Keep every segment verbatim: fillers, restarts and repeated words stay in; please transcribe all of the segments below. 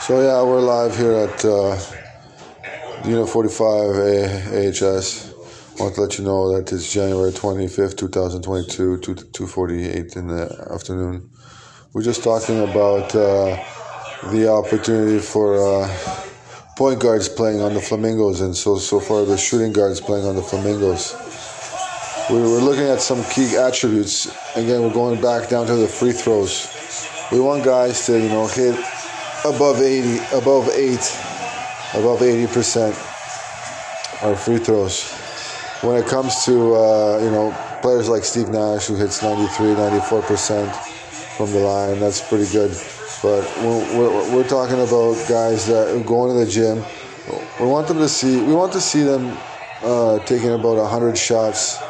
So yeah, we're live here at uh, Unit forty-five A H S. I want to let you know that it's January twenty-fifth, twenty twenty-two, two forty-eight in the afternoon. We're just talking about uh, the opportunity for uh, point guards playing on the Flamingos, and so so far the shooting guards playing on the Flamingos. We were looking at some key attributes. Again, we're going back down to the free throws. We want guys to, you know, hit above eighty, above eight, above eighty percent our free throws. When it comes to, uh, you know, players like Steve Nash, who hits ninety-three, ninety-four percent from the line, that's pretty good. But we're, we're, we're talking about guys that go into the gym. We want them to see, we want to see them uh, taking about one hundred shots,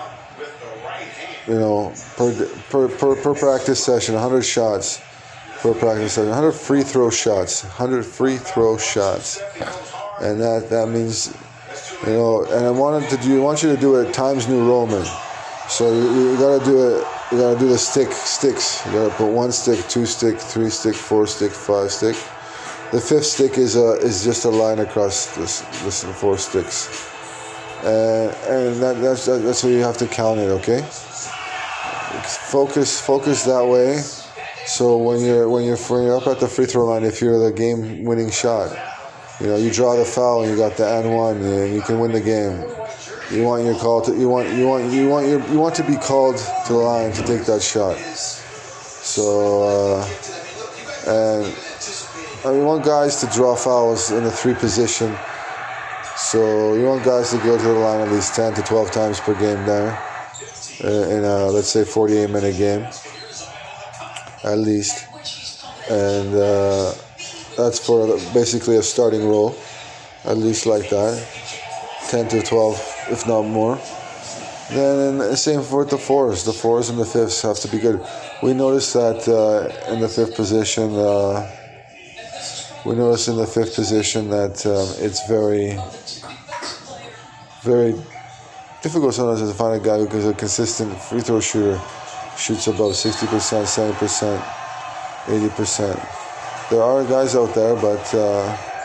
you know, per, per, per, per practice session, one hundred shots per practice session, one hundred free throw shots, one hundred free throw shots. And that, that means, you know, and I wanted to do, I want you to do it Times New Roman. So you, you gotta do it, you gotta do the stick, sticks. You gotta put one stick, two stick, three stick, four stick, five stick. The fifth stick is a, is just a line across this, this four sticks. And, and that, that's, that's how you have to count it, okay? Focus, focus that way. So when you're, when you're, when you're up at the free throw line, if you're the game winning shot, you know, you draw the foul and you got the and one, and you can win the game. You want your call to, you want, you want, you want your, you want to be called to the line to take that shot. So, uh, and I mean, you want guys to draw fouls in the three position. So you want guys to go to the line at least ten to twelve times per game there, in a, let's say forty-eight minute game, at least, and. Uh, That's for basically a starting role, at least like that, ten to twelve, if not more. Then same for the fours. The fours and the fifths have to be good. We noticed that uh, in the fifth position, uh, we noticed in the fifth position that um, it's very, very difficult sometimes to find a guy who is a consistent free throw shooter, shoots above sixty percent, seventy percent, eighty percent. There are guys out there, but uh,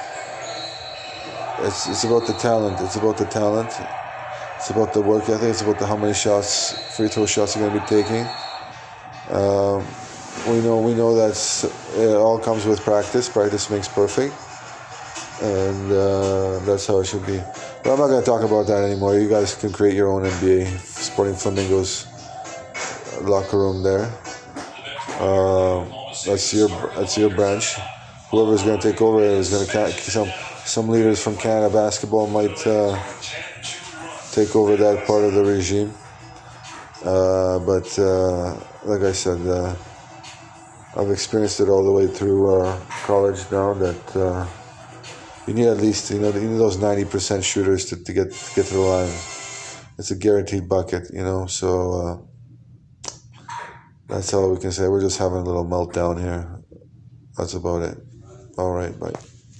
it's it's about the talent. It's about the talent. It's about the work ethic. It's about the how many shots, free throw shots you're going to be taking. Um, we know we know that it all comes with practice. Practice makes perfect, and uh, that's how it should be. But I'm not going to talk about that anymore. You guys can create your own N B A Sporting Flamingos locker room there. Uh, That's your that's your branch. Whoever's going to take over is going to some some leaders from Canada basketball might uh, take over that part of the regime. Uh, but uh, like I said, uh, I've experienced it all the way through uh, college now. That uh, you need at least you know you need those ninety percent shooters to, to get to get to the line. It's a guaranteed bucket, you know. So. Uh, That's all we can say. We're just having a little meltdown here. That's about it. All right, bye.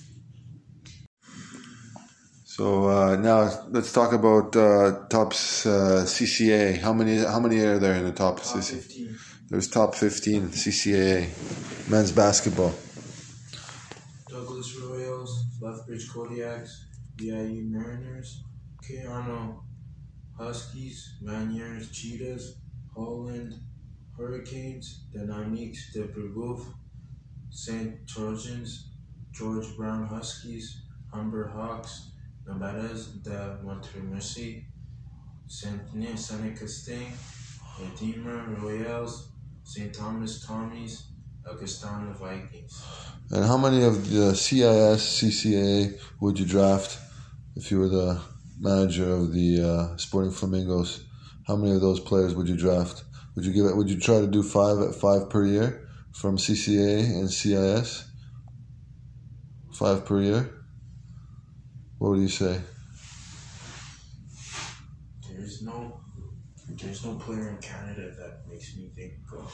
So uh, now let's talk about uh, top uh, C C A. How many? How many are there in the top? Top C C A? fifteen. There's top fifteen C C A men's basketball. Douglas Royals, Lethbridge Kodiaks, V I U Mariners, K. Arnold Huskies, Maniers Cheetahs, Holland Hurricanes, Dynamiques de Brebeuf, Saint Trojans, George Brown Huskies, Humber Hawks, Navarrez de Montmorency, Saint-Denis Seneca Sting, Redeemer Royals, Saint Thomas Tommies, Augustana Vikings. And how many of the C I S, C C A would you draft if you were the manager of the uh, Sporting Flamingos? How many of those players would you draft? Would you give it? Would you try to do five at five per year from C C A and C I S? Five per year. What would you say? There's no, there's no player in Canada that makes me think of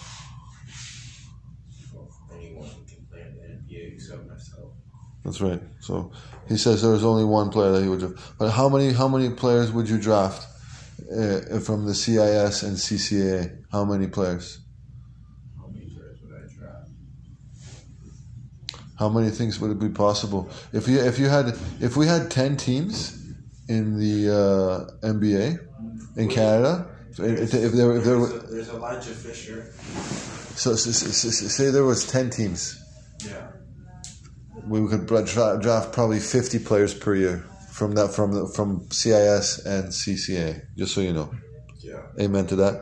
well, anyone who can play in the N B A except myself. That's right. So he says there was only one player that he would draft. But how many? How many players would you draft uh, from the C I S and C C A? How many players? How many players would I draft? How many things would it be possible if you if you had if we had ten teams in the uh, N B A in Canada? If, if there if there there's, a, there's Elijah Fisher. So, so, so, so say there was ten teams. Yeah. We could draft, draft probably fifty players per year from that from from C I S and C C A. Just so you know. Yeah. Amen to that.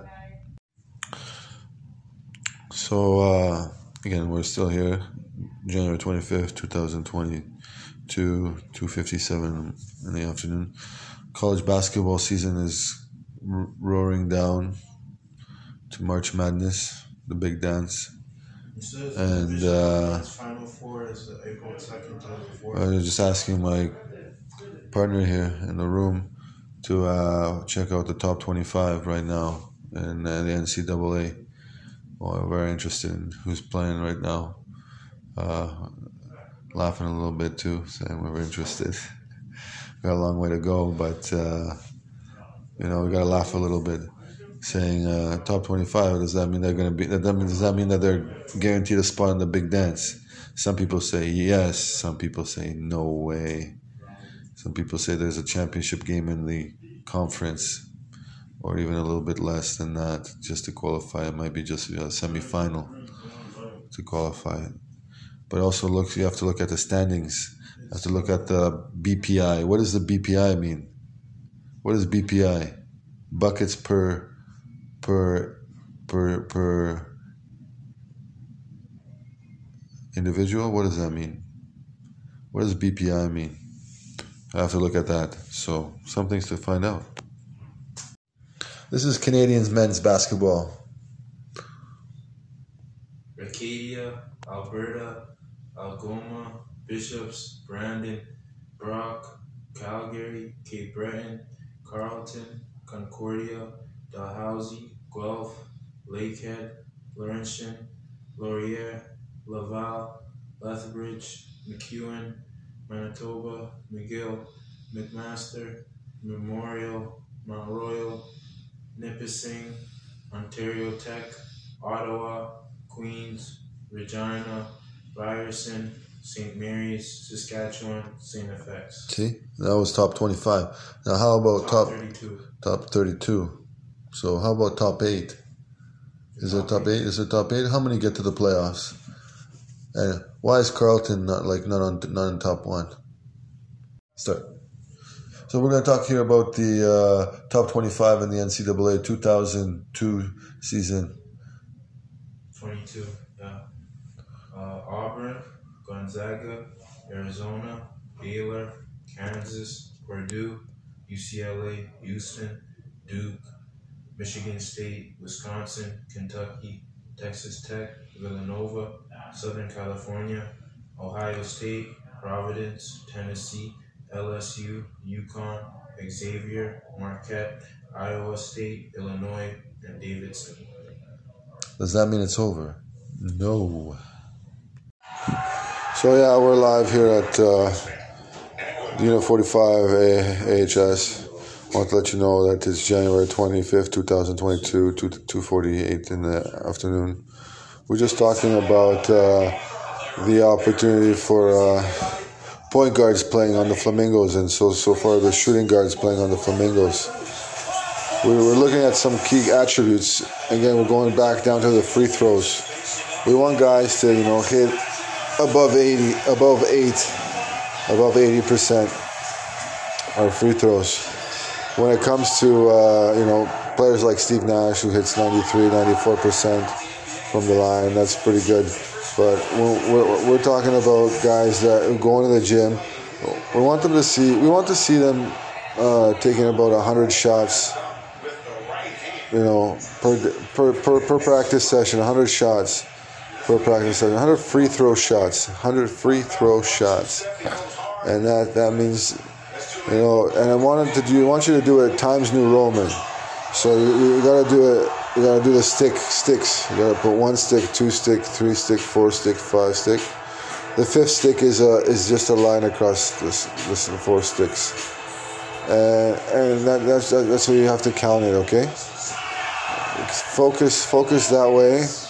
So uh, again, we're still here, January twenty fifth, two thousand twenty two, two fifty seven in the afternoon. College basketball season is r- roaring down to March Madness, the big dance. And uh, Final Four is April second, I was just asking my partner here in the room to uh, check out the top twenty-five right now in uh, the N C double A. Well, we're very interested in who's playing right now. Uh, laughing a little bit too, saying we're interested. We got a long way to go, but uh, you know we got to laugh a little bit. Saying uh, top twenty-five, does that mean they're going to be? That mean, does that mean that they're guaranteed a spot in the big dance? Some people say yes. Some people say no way. Some people say there's a championship game in the conference, or even a little bit less than that, just to qualify. It might be just a semi-final to qualify. But also, look, you have to look at the standings. You have to look at the B P I. What does the B P I mean? What is B P I? Buckets per. Per, per, per individual? What does that mean? What does B P I mean? I have to look at that. So, some things to find out. This is Canadians men's basketball. Arcadia, Alberta, Algoma, Bishops, Brandon, Brock, Calgary, Cape Breton, Carleton, Concordia, Dalhousie, Guelph, Lakehead, Laurentian, Laurier, Laval, Lethbridge, McEwen, Manitoba, McGill, McMaster, Memorial, Mount Royal, Nipissing, Ontario Tech, Ottawa, Queens, Regina, Ryerson, Saint Mary's, Saskatchewan, Saint F X. See, that was top twenty-five. Now, how about top, top thirty-two? Top thirty-two. So, how about top eight? Is there top eight? Is there top eight? How many get to the playoffs? And why is Carleton not like not on not in top one? Start. So we're going to talk here about the uh, top twenty-five in the N C double A two thousand two season. twenty-two, yeah. Uh, Auburn, Gonzaga, Arizona, Baylor, Kansas, Purdue, U C L A, Houston, Duke, Michigan State, Wisconsin, Kentucky, Texas Tech, Villanova, Southern California, Ohio State, Providence, Tennessee, L S U, UConn, Xavier, Marquette, Iowa State, Illinois, and Davidson. Does that mean it's over? No. So yeah, we're live here at uh, Unit forty-five A H S. I want to let you know that it's January twenty-fifth, twenty twenty-two, two forty-eight in the afternoon. We're just talking about uh, the opportunity for uh, point guards playing on the Flamingos, and so so far the shooting guards playing on the Flamingos. We were looking at some key attributes. Again, we're going back down to the free throws. We want guys to, you know, hit above eighty, above eight, above eighty percent our free throws. When it comes to, uh, you know, players like Steve Nash, who hits ninety-three, ninety-four percent from the line, that's pretty good. But we're, we're, we're talking about guys that go into the gym. We want them to see, we want to see them uh, taking about one hundred shots, you know, per, per, per, per practice session, one hundred shots per practice session, one hundred free throw shots, one hundred free throw shots. And that, that means, you know, and I wanted to do, I want you to do it Times New Roman. So you, you gotta do it, you gotta do the stick, sticks. You gotta put one stick, two stick, three stick, four stick, five stick. The fifth stick is a, is just a line across this, this four sticks. And, and that, that's, that's how you have to count it, okay? Focus, focus that way.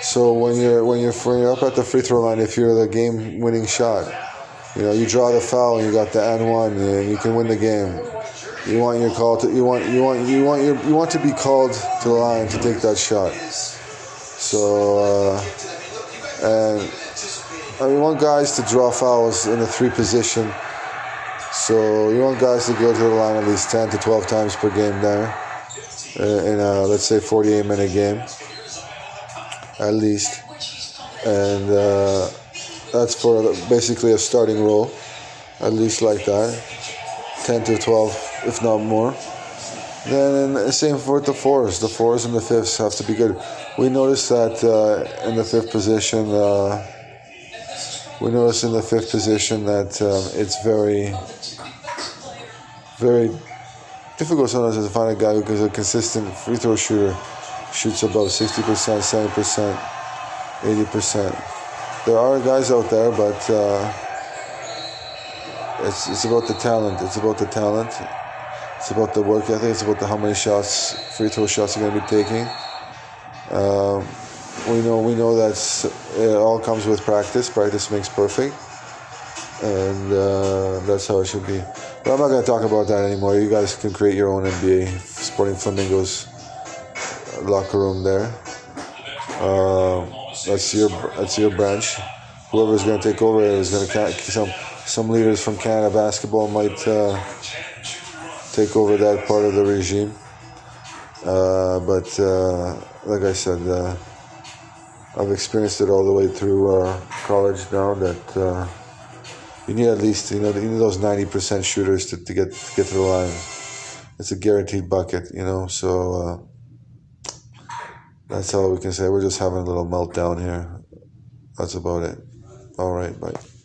So when you're when you're when you're up at the free throw line, if you're the game-winning shot, you know you draw the foul and you got the and one, and you can win the game. You want your call to you want you want you want your you want to be called to the line to take that shot. So uh, and I mean, you want guys to draw fouls in the three position. So you want guys to go to the line at least ten to twelve times per game there, uh, in a let's say forty-eight minute game, at least, and uh, that's for basically a starting role, at least like that, ten to twelve, if not more. Then the same for the fours. The fours and the fifths have to be good. We noticed that uh, in the fifth position. Uh, We notice in the fifth position that um, it's very, very difficult sometimes to find a guy who is a consistent free throw shooter, shoots above sixty percent, seventy percent, eighty percent. There are guys out there, but uh, it's it's about the talent. It's about the talent. It's about the work ethic. It's about the how many shots, free throw shots you're going to be taking. Um, We know we know that it all comes with practice. Practice makes perfect, and uh, that's how it should be. But I'm not going to talk about that anymore. You guys can create your own N B A Sporting Flamingos locker room there. Uh, that's your that's your branch. Whoever's going to take over is going to some some leaders from Canada basketball might uh, take over that part of the regime. Uh, but uh, like I said. Uh, I've experienced it all the way through uh, college now that uh, you need at least, you know, you need those ninety percent shooters to, to get to get to the line. It's a guaranteed bucket, you know, so uh, that's all we can say. We're just having a little meltdown here. That's about it. All right, bye.